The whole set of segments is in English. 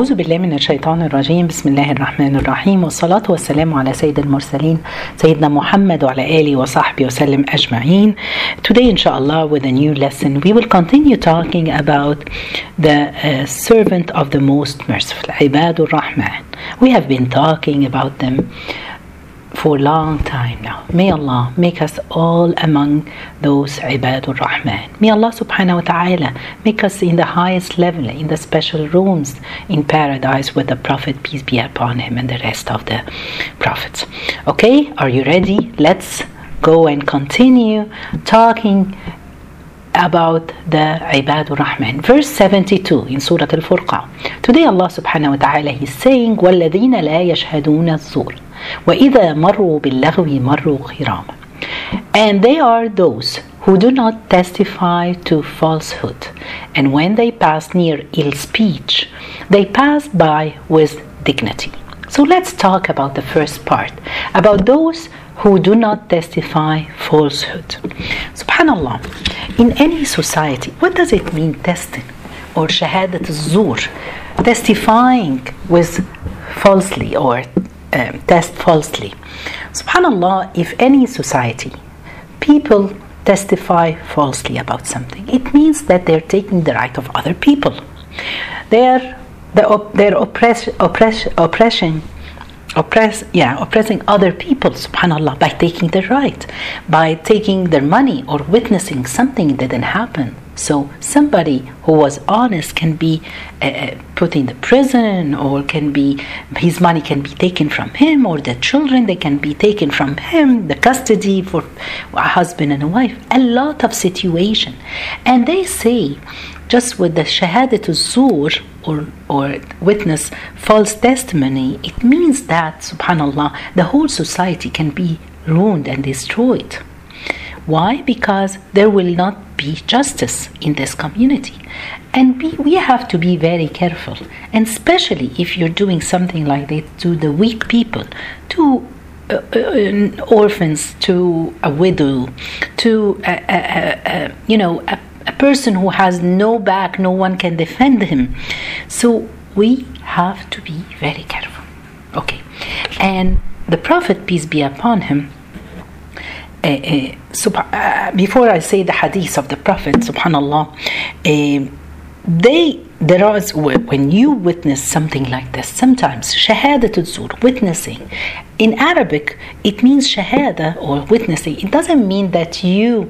أعوذ بالله من الشيطان الرجيم. بسم الله الرحمن الرحيم، والصلاة والسلام على سيد المرسلين سيدنا محمد وعلى آله وصحبه وسلم أجمعين. Today inshallah with a new lesson we will continue talking about the servant of the most merciful, Ibadur Rahman. We have been talking about them for a long time now. May Allah make us all among those Ibadur Rahman. May Allah subhanahu wa ta'ala make us in the highest level, in the special rooms in paradise with the Prophet, peace be upon him, and the rest of the prophets. Okay, are you ready? Let's go and continue talking about the Ibadur Rahman. Verse 72 in Surah Al-Furqan. Today Allah subhanahu wa ta'ala is saying, وَالَّذِينَ لَا يَشْهَدُونَ الزُّورَ وَإِذَا مَرُّوا بِاللَّغْوِ مَرُّوا كِرَامًا. And they are those who do not testify to falsehood, and when they pass near ill speech, they pass by with dignity. So let's talk about the first part, about those who do not testify falsehood. Subhanallah, in any society, what does it mean testing or shahadat al-zur, testifying with falsely or test falsely? Subhanallah, if any society people testify falsely about something, it means that they're taking the right of other people. They're oppressing other people, subhanallah, by taking their right, by taking their money or witnessing something that didn't happen. So somebody who was honest can be put in the prison, or his money can be taken from him, or the children, they can be taken from him, the custody for a husband and a wife, a lot of situation. And they say, just with the shahadat al-zur or witness false testimony, it means that, subhanallah, the whole society can be ruined and destroyed. Why? Because there will not be justice in this community. And we have to be very careful. And especially if you're doing something like this to the weak people, to orphans, to a widow, to a person who has no back, no one can defend him. So we have to be very careful. Okay. And the Prophet, peace be upon him, before I say the hadith of the Prophet, subhanallah, when you witness something like this, sometimes shahadat al-zur, witnessing, in Arabic it means shahada or witnessing. It doesn't mean that you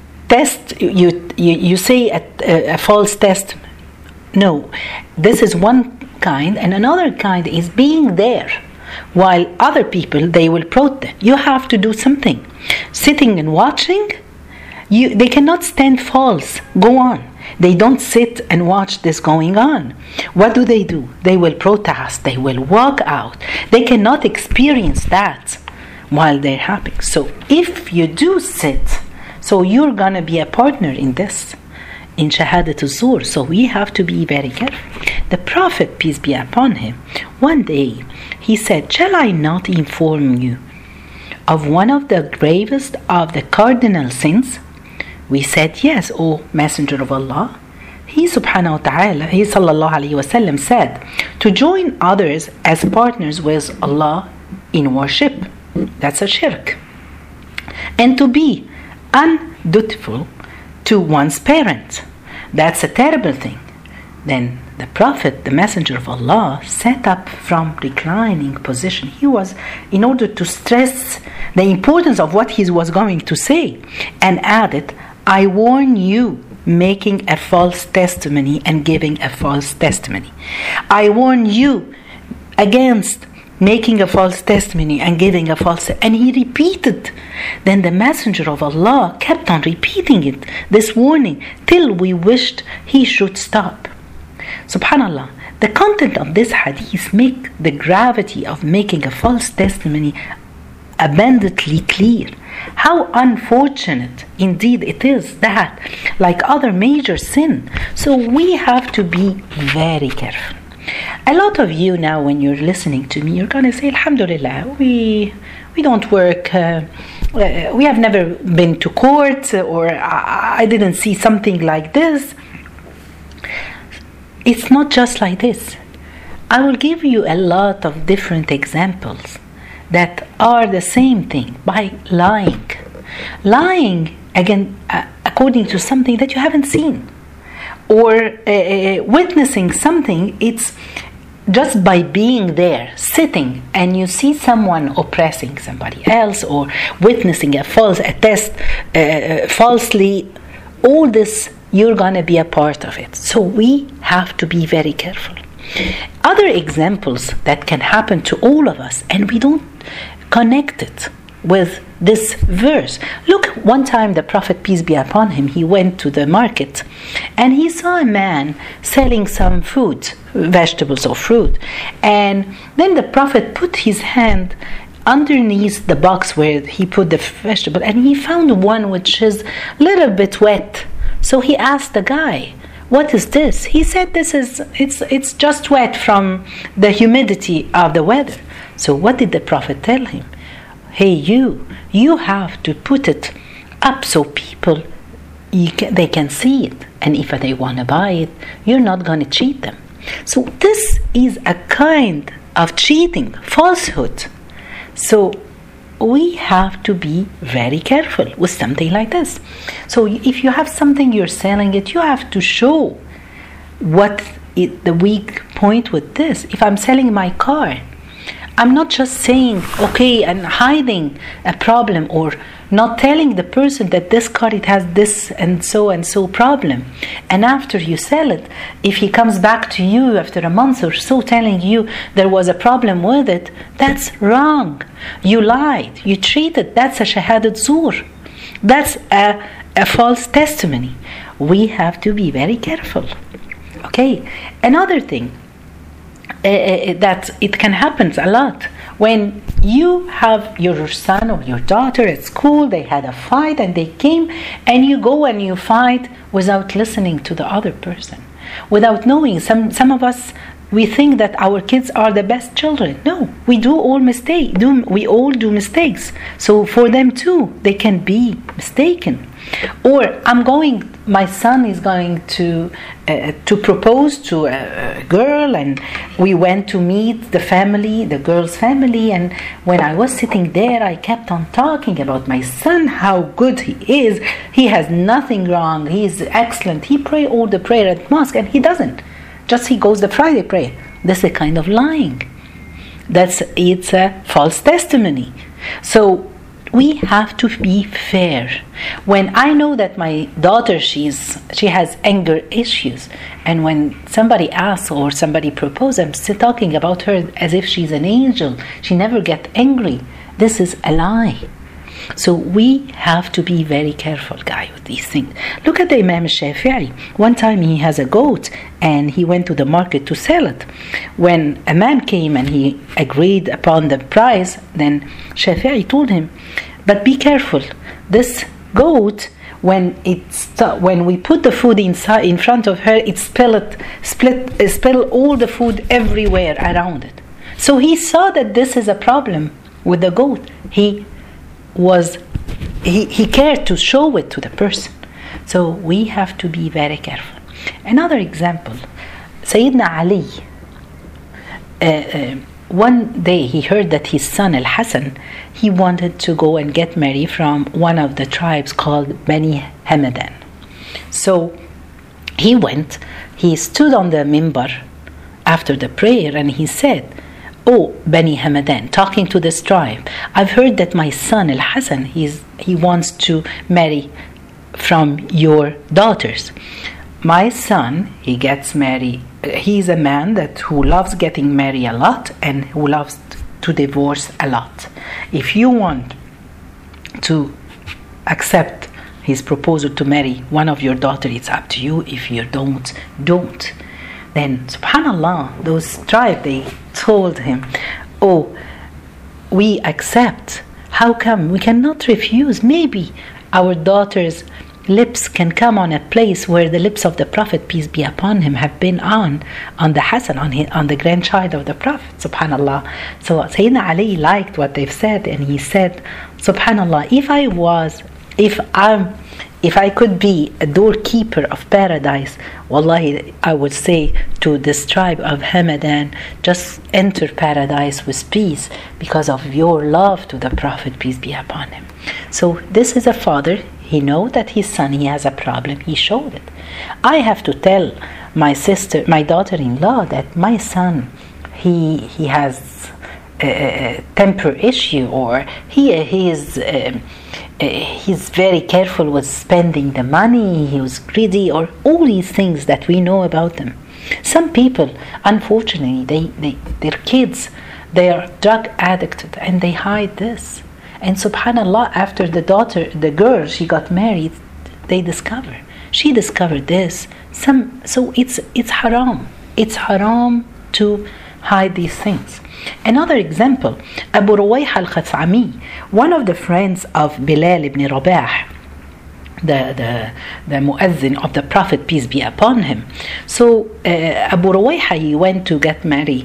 say a false testimony. No, this is one kind, and another kind is being there while other people, they will protest. You have to do something. Sitting and watching, they cannot stand false. Go on. They don't sit and watch this going on. What do? They will protest. They will walk out. They cannot experience that while they're happy. So if you do sit, so you're going to be a partner in this, in shahadat al-zur. So we have to be very careful. The Prophet, peace be upon him, one day he said, shall I not inform you of one of the gravest of the cardinal sins? We said, yes, O Messenger of Allah. He subhanahu wa ta'ala, he sallallahu alayhi wa sallam said, to join others as partners with Allah in worship, that's a shirk. And to be undutiful to one's parent, that's a terrible thing. Then the Prophet, the Messenger of Allah, sat up from reclining position. He was, in order to stress the importance of what he was going to say, and added, I warn you making a false testimony and giving a false testimony. I warn you against making a false testimony and giving a false, and he repeated. Then the Messenger of Allah kept on repeating it, this warning, till we wished he should stop. Subhanallah, the content of this hadith make the gravity of making a false testimony abundantly clear. How unfortunate indeed it is that, like other major sin, so we have to be very careful. A lot of you now, when you're listening to me, you're going to say, Alhamdulillah, we don't work, we have never been to court, or I didn't see something like this. It's not just like this. I will give you a lot of different examples that are the same thing by lying. Lying, again, according to something that you haven't seen, or witnessing something. It's just by being there, sitting, and you see someone oppressing somebody else or witnessing a test falsely. All this, you're going to be a part of it. So we have to be very careful. Other examples that can happen to all of us, and we don't connect it with this verse. Look, one time the Prophet, peace be upon him, he went to the market and he saw a man selling some food, vegetables or fruit. And then the Prophet put his hand underneath the box where he put the vegetable, and he found one which is a little bit wet. So he asked the guy, what is this? He said, it's just wet from the humidity of the weather. So what did the Prophet tell him? Hey, you have to put it up so people, they can see it. And if they want to buy it, you're not going to cheat them. So this is a kind of cheating, falsehood. So we have to be very careful with something like this. So if you have something, you're selling it, you have to show what is the weak point with this. If I'm selling my car, I'm not just saying, okay, and hiding a problem or not telling the person that this car, it has this and so problem. And after you sell it, if he comes back to you after a month or so telling you there was a problem with it, that's wrong. You lied, you cheated, that's a shahadat zur. That's a false testimony. We have to be very careful. Okay, another thing, that it can happen a lot when you have your son or your daughter at school, they had a fight and they came, and you go and you fight without listening to the other person, without knowing. Some of us, we think that our kids are the best children. No, we all do mistakes. So for them too, they can be mistaken. Or my son is going to propose to a girl, and we went to meet the girl's family, and when I was sitting there, I kept on talking about my son, how good he is. He has nothing wrong. He is excellent. He prays all the prayer at mosque, and he doesn't. Just he goes the Friday prayer. This is a kind of lying. It's a false testimony. So we have to be fair. When I know that my daughter, she has anger issues, and when somebody asks or somebody proposes, I'm still talking about her as if she's an angel. She never gets angry. This is a lie. So we have to be very careful, guys, with these things. Look at the Imam Shafi'i. One time he has a goat and he went to the market to sell it. When a man came and he agreed upon the price, then Shafi'i told him, but be careful. This goat, when we put the food inside in front of her, it spill all the food everywhere around it. So he saw that this is a problem with the goat. He cared to show it to the person. So we have to be very careful. Another example, Sayyidina Ali, one day he heard that his son Al-Hassan, he wanted to go and get married from one of the tribes called Bani Hamadan. So he went, he stood on the minbar after the prayer, and he said, oh, Bani Hamadan, talking to this tribe, I've heard that my son Al-Hassan, he wants to marry from your daughters. My son, he gets married. He's a man who loves getting married a lot and who loves to divorce a lot. If you want to accept his proposal to marry one of your daughters, it's up to you. If you don't. Then, subhanallah, those tribes, they told him, oh, we accept. How come? We cannot refuse. Maybe our daughter's lips can come on a place where the lips of the Prophet, peace be upon him, have been on the Hassan, on the grandchild of the Prophet, subhanallah. So Sayyidina Ali liked what they've said, and he said, subhanallah, if if I could be a doorkeeper of paradise, wallahi, I would say to this tribe of Hamadan, just enter paradise with peace because of your love to the Prophet, peace be upon him. So this is a father. He knows that his son, he has a problem. He showed it. I have to tell my sister, my daughter-in-law, that my son, he has a temper issue, or he's very careful with spending the money, he was greedy, or all these things that we know about them. Some people, unfortunately, their kids, they are drug addicted and they hide this. And subhanallah, after the girl, she got married, she discovered this. So it's haram. It's haram to hide these things. Another example, Abu Ruwayha al-Khathami, one of the friends of Bilal ibn Rabah, the muezzin of the Prophet, peace be upon him. So Abu Ruwayha, he went to get married,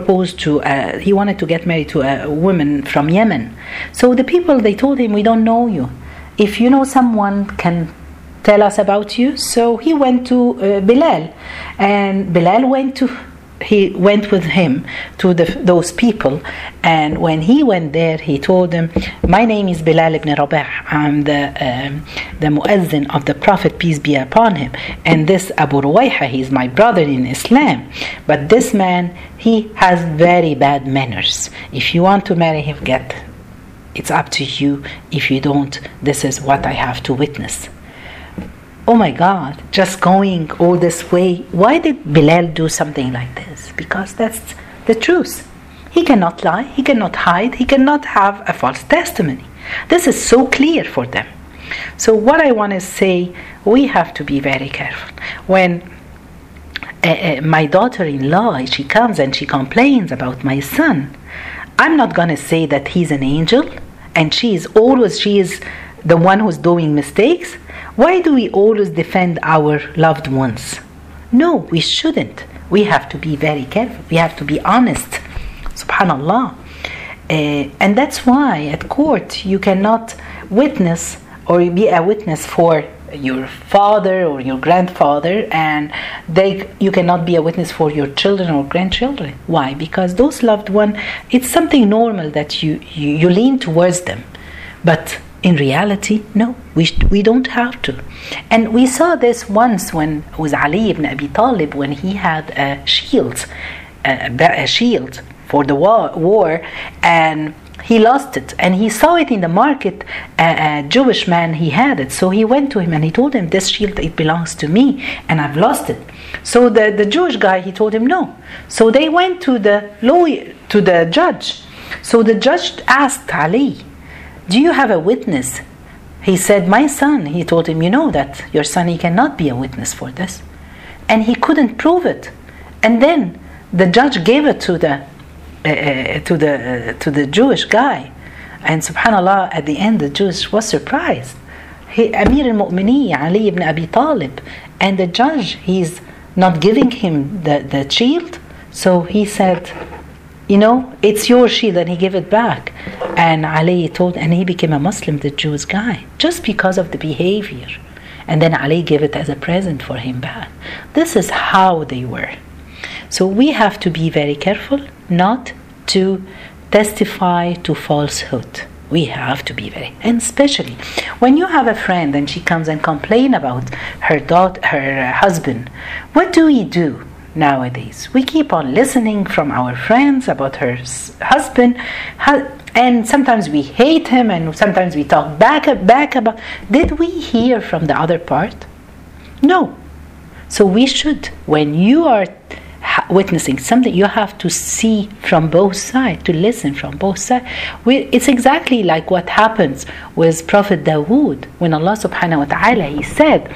he wanted to get married to a woman from Yemen. So the people, they told him, we don't know you. If you know someone, can tell us about you. So he went to Bilal, and Bilal went with him to those people. And when he went there, he told them, my name is Bilal ibn Rabah. I'm the muezzin of the Prophet, peace be upon him. And this Abu Ruwayha, he's my brother in Islam. But this man, he has very bad manners. If you want to marry him, it's up to you. If you don't, this is what I have to witness. Oh my God, just going all this way. Why did Bilal do something like this? Because that's the truth. He cannot lie, he cannot hide, he cannot have a false testimony. This is so clear for them. So what I want to say, we have to be very careful. When my daughter-in-law, she comes and she complains about my son, I'm not going to say that he's an angel and she is the one who's doing mistakes. Why do we always defend our loved ones? No, we shouldn't. We have to be very careful. We have to be honest. Subhanallah. And that's why at court you cannot witness or be a witness for your father or your grandfather, and you cannot be a witness for your children or grandchildren. Why? Because those loved ones, it's something normal that you lean towards them. But in reality, no, we don't have to. And we saw this once when it was Ali ibn Abi Talib, when he had a shield for the war, and he lost it. And he saw it in the market, a Jewish man, he had it. So he went to him and he told him, this shield, it belongs to me and I've lost it. So the Jewish guy, he told him no. So they went to the lawyer, to the judge. So the judge asked Ali, do you have a witness? He said, my son. He told him, you know that your son, he cannot be a witness for this. And he couldn't prove it. And then the judge gave it to the Jewish guy. And subhanallah, at the end, the Jewish was surprised. Amir al-Mu'mineen, Ali ibn Abi Talib. And the judge, he's not giving him the shield. So he said, you know, it's your shield, and he gave it back. And Ali and he became a Muslim, the Jewish guy, just because of the behavior. And then Ali gave it as a present for him back. This is how they were. So we have to be very careful not to testify to falsehood. We have to be and especially when you have a friend and she comes and complains about her husband, what do we do? Nowadays, we keep on listening from our friends about her husband, and sometimes we hate him, and sometimes we talk back about. Did we hear from the other part? No. So we should, when you are witnessing something, you have to see from both sides, to listen from both sides. It's exactly like what happens with Prophet Dawood, when Allah subhanahu wa ta'ala, he said,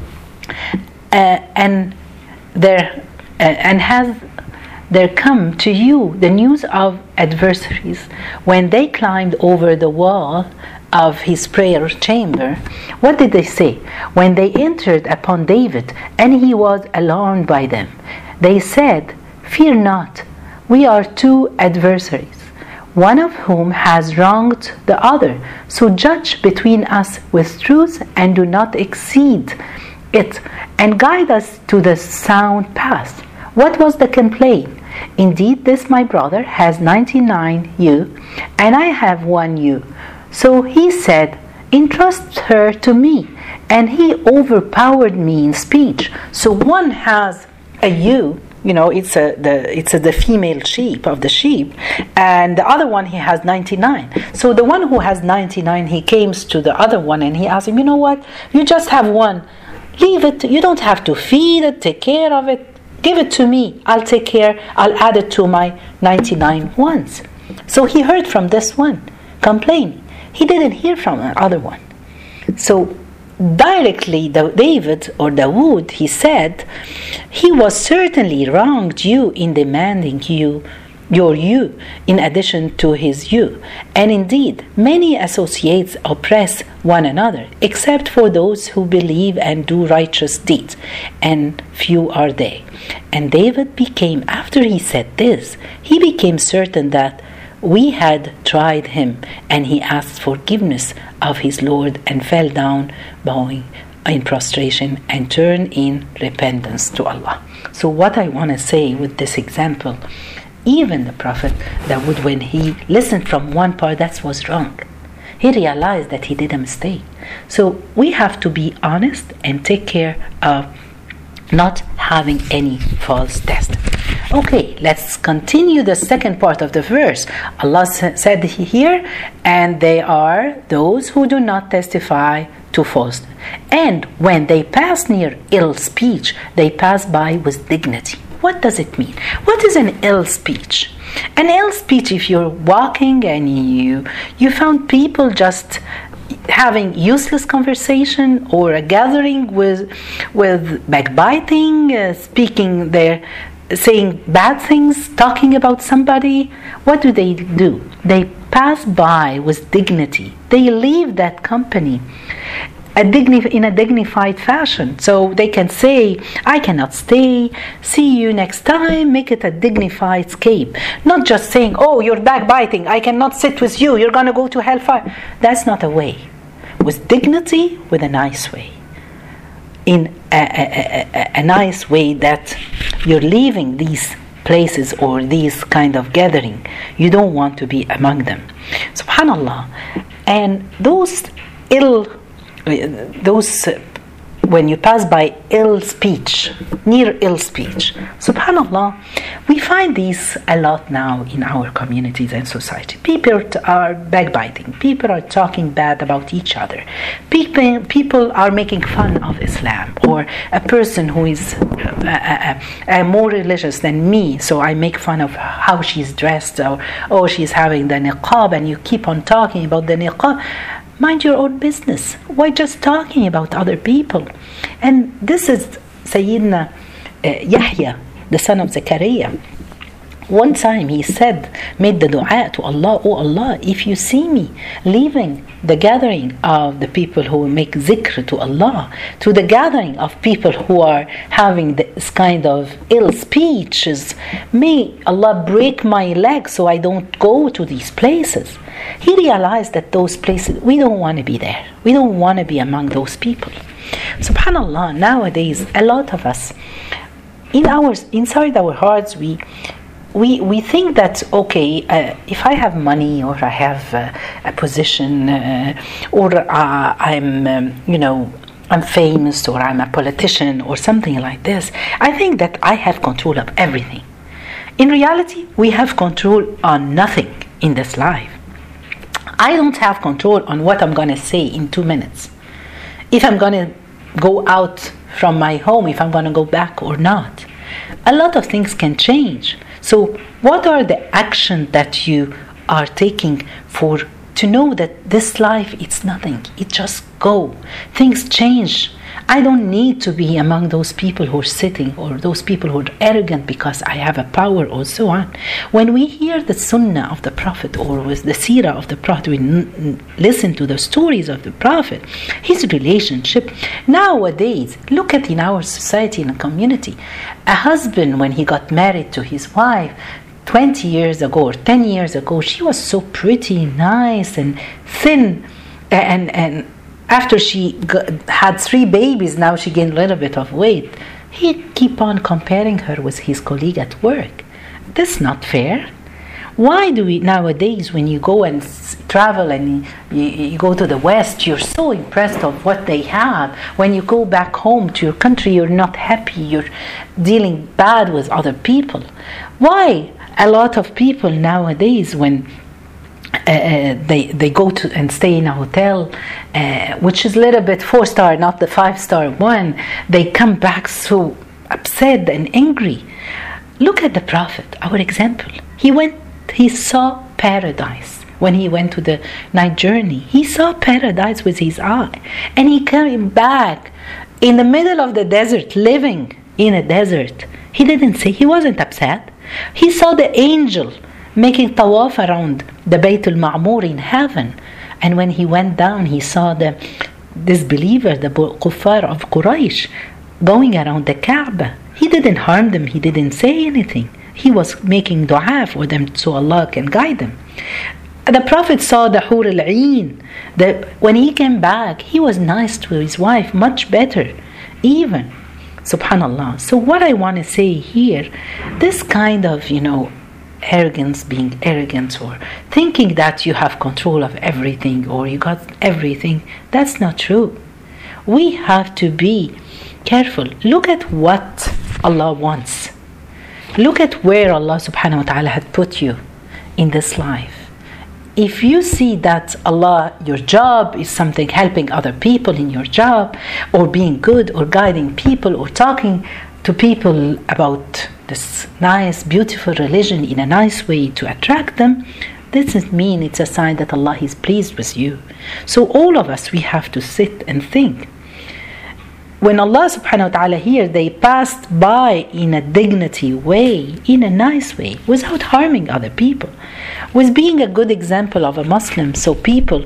and has there come to you the news of adversaries when they climbed over the wall of his prayer chamber? What did they say? When they entered upon David and he was alarmed by them, they said, fear not, we are two adversaries. one of whom has wronged the other. So judge between us with truth and do not exceed it, and guide us to the sound path. What was the complaint? Indeed, this my brother has 99 ewe, and I have 1 ewe. So he said, entrust her to me, and he overpowered me in speech. So one has a ewe, it's the female sheep of the sheep, and the other one he has 99. So the one who has 99, he comes to the other one and he asks him, you know what? You just have one. Leave it. You don't have to feed it, take care of it. Give it to me. I'll take care. I'll add it to my 99 ones. So he heard from this one complaining. He didn't hear from the other one. So directly David or Dawood, he said, he was certainly wronged you in demanding your ewe in addition to his ewe. And indeed, many associates oppress one another, except for those who believe and do righteous deeds, and few are they. And David became, after he said this, he became certain that we had tried him, and he asked forgiveness of his Lord and fell down bowing in prostration and turned in repentance to Allah. So what I want to say with this example, even the Prophet Dawood, when he listened from one part that was wrong, he realized that he did a mistake. So we have to be honest and take care of not having any false test. Okay, let's continue the second part of the verse. Allah said here, and they are those who do not testify to false. And when they pass near ill speech, they pass by with dignity. What does it mean? What is an ill speech? An ill speech, if you're walking and you found people just having useless conversation, or a gathering with backbiting, speaking there, saying bad things, talking about somebody, what do? They pass by with dignity. They leave that company in a dignified fashion. So they can say, I cannot stay, see you next time, make it a dignified escape. Not just saying, oh, you're backbiting, I cannot sit with you, you're going to go to hellfire. That's not a way. With dignity, with a nice way. In a nice way that you're leaving these places or these kind of gathering. You don't want to be among them. Subhanallah. And when you pass by ill speech, near ill speech, subhanallah, we find these a lot now in our communities and society. People are backbiting. People are talking bad about each other. People are making fun of Islam, or a person who is more religious than me, so I make fun of how she's dressed, or she's having the niqab, and you keep on talking about the niqab. Mind your own business. Why just talking about other people? And this is Sayyidina Yahya, the son of Zakaria. One time he made the dua to Allah, oh Allah, if you see me leaving the gathering of the people who make zikr to Allah, to the gathering of people who are having this kind of ill speeches, may Allah break my leg so I don't go to these places. He realized that those places, we don't want to be there. We don't want to be among those people. Subhanallah, nowadays, a lot of us, inside our hearts, we think that, okay, if I have money, or I have a position, or I'm famous, or I'm a politician, or something like this, I think that I have control of everything. In reality, we have control on nothing in this life. I don't have control on what I'm going to say in 2 minutes. If I'm going to go out from my home, if I'm going to go back or not. A lot of things can change. So what are the actions that you are taking to know that this life, it's nothing. It just go. Things change. I don't need to be among those people who are sitting, or those people who are arrogant because I have a power, or so on. When we hear the sunnah of the Prophet, or with the seerah of the Prophet, we listen to the stories of the Prophet, his relationship. Nowadays, look at in our society and community, a husband, when he got married to his wife, 20 years ago or 10 years ago, she was so pretty, nice and thin, and after she had 3 babies, now she gained a little bit of weight. He keep on comparing her with his colleague at work. That's not fair. Why do we nowadays, when you go and travel and you go to the West, you're so impressed of what they have. When you go back home to your country, you're not happy. You're dealing bad with other people. Why? A lot of people nowadays, when they go to and stay in a hotel, which is a little bit 4-star, not the 5-star one, they come back so upset and angry. Look at the Prophet, our example. He saw paradise when he went to the night journey. He saw paradise with his eye, and he came back in the middle of the desert, living in a desert. He didn't say, he wasn't upset. He saw the angel making tawaf around the Bayt al-Ma'mur in heaven, and when he went down, he saw the disbeliever, the kuffar of Quraysh, going around the Kaaba. He didn't harm them. He didn't say anything. He was making dua for them so Allah can guide them. The Prophet saw the Hur al-Ain. When he came back, he was nice to his wife, much better, even. Subhanallah. So what I want to say here, this kind of, arrogance, being arrogant or thinking that you have control of everything or you got everything, that's not true. We have to be careful. Look at what Allah wants. Look at where Allah subhanahu wa ta'ala had put you in this life. If you see that Allah, your job is something, helping other people in your job, or being good, or guiding people, or talking to people about this nice, beautiful religion in a nice way to attract them, this doesn't mean it's a sign that Allah is pleased with you. So all of us, we have to sit and think. When Allah subhanahu wa ta'ala here, they passed by in a dignity way, in a nice way, without harming other people, with being a good example of a Muslim, so people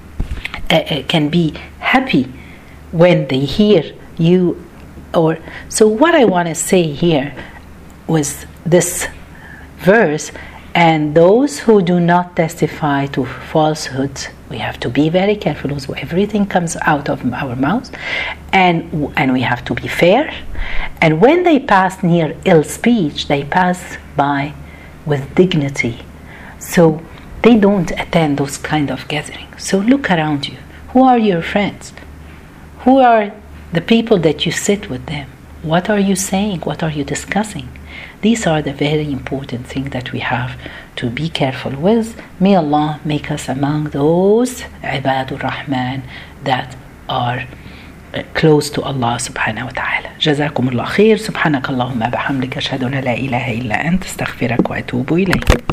can be happy when they hear you. So what I want to say here was this verse, and those who do not testify to falsehoods, we have to be very careful with everything comes out of our mouths, and we have to be fair. And when they pass near ill speech, they pass by with dignity. So they don't attend those kind of gatherings. So look around you. Who are your friends? Who are the people that you sit with them? What are you saying? What are you discussing? These are the very important things that we have to be careful with. May Allah make us among those Ibadur Rahman that are close to Allah subhanahu wa ta'ala. جزاكم الله خير. سبحانك اللهم بحمدك أشهد أن لا إله إلا أنت أستغفرك وأتوب إليك.